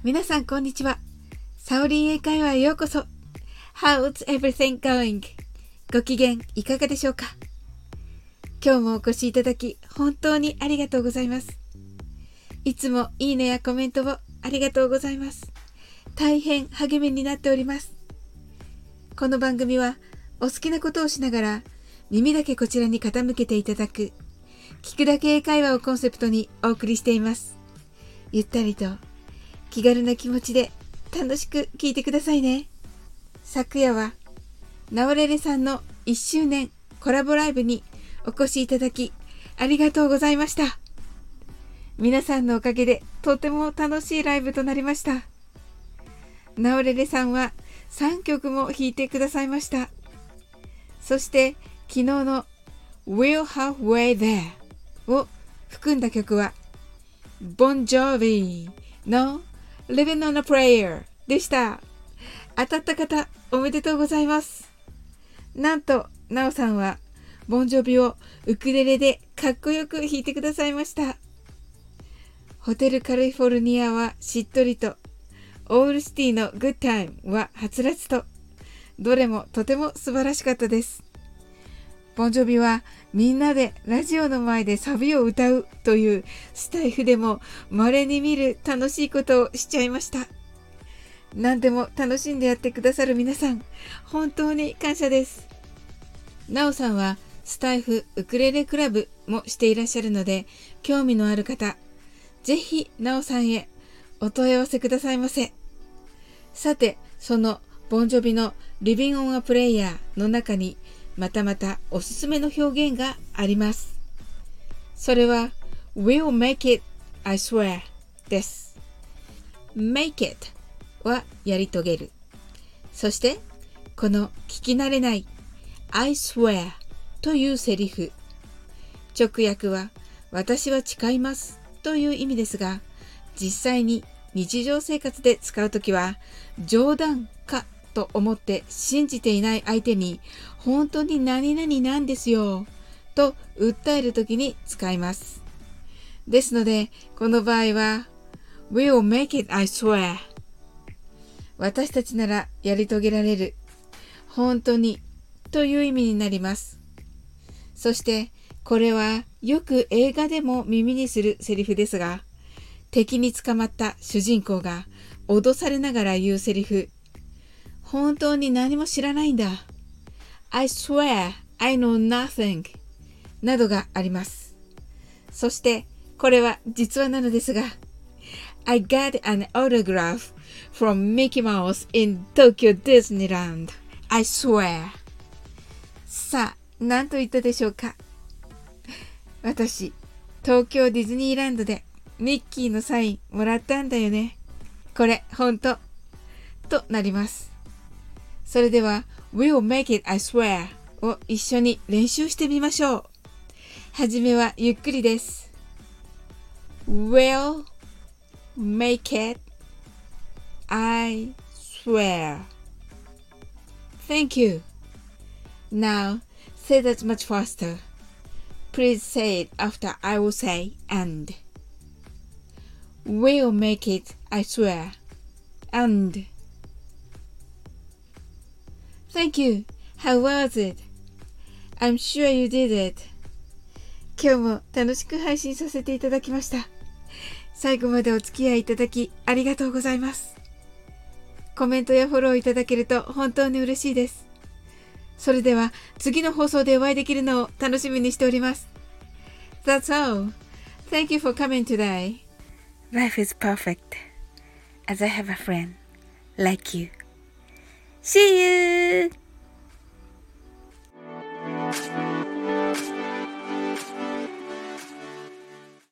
皆さんこんにちは。サオリン英会話へようこそ。How's everything going? ご機嫌いかがでしょうか？今日もお越しいただき本当にありがとうございます。いつもいいねやコメントをありがとうございます。大変励みになっております。この番組はお好きなことをしながら耳だけこちらに傾けていただく聞くだけ英会話をコンセプトにお送りしています。ゆったりと気軽な気持ちで楽しく聞いてくださいね。昨夜はナオレレさんの1周年コラボライブにお越しいただきありがとうございました。皆さんのおかげでとても楽しいライブとなりました。ナオレレさんは3曲も弾いてくださいました。そして昨日の We're Halfway There を含んだ曲はボンジョービーの Living on a Prayer でした。当たった方おめでとうございます。なんとナオさんはボンジョビをウクレレでかっこよく弾いてくださいました。ホテルカリフォルニアはしっとりと、オールシティのグッタイムははつらつと、どれもとても素晴らしかったです。ボンジョビはみんなでラジオの前でサビを歌うというスタイフでも稀に見る楽しいことをしちゃいました。何でも楽しんでやってくださる皆さん、本当に感謝です。ナオさんはスタイフウクレレクラブもしていらっしゃるので、興味のある方、ぜひナオさんへお問い合わせくださいませ。さて、そのボンジョビの Living on a Prayer の中にまたおすすめの表現があります。それは We'll make it, I swear です。make it はやり遂げる。そしてこの聞き慣れない I swear というセリフ。直訳は私は誓いますという意味ですが、実際に日常生活で使うときは冗談かと思って信じていない相手に本当に何々なんですよと訴えるときに使います。ですのでこの場合は We'll make it, I swear 私たちならやり遂げられる、本当にという意味になります。そしてこれはよく映画でも耳にするセリフですが、敵に捕まった主人公が脅されながら言うセリフ、本当に何も知らないんだ I swear I know nothing などがあります。そしてこれは実話なのですが、 I got an autograph from Mickey Mouse in Tokyo Disneyland I swear。 さあ何と言ったでしょうか。私東京ディズニーランドでミッキーのサインもらったんだよね。これ本当となります。それでは We'll make it, I swear を一緒に練習してみましょう。はじめはゆっくりです。 We'll make it, I swear. Thank you. Now say that much faster. Please say it after I will say and. We'll make it, I swear. And. Thank you. How was it? I'm sure you did it. 今日も楽しく配信させていただきました。最後までお付き合いいただきありがとうございます。コメントやフォローいただけると本当に嬉しいです。それでは次の放送でお会いできるのを楽しみにしております。That's all. Thank you for coming today. Life is perfect as I have a friend like you. See you!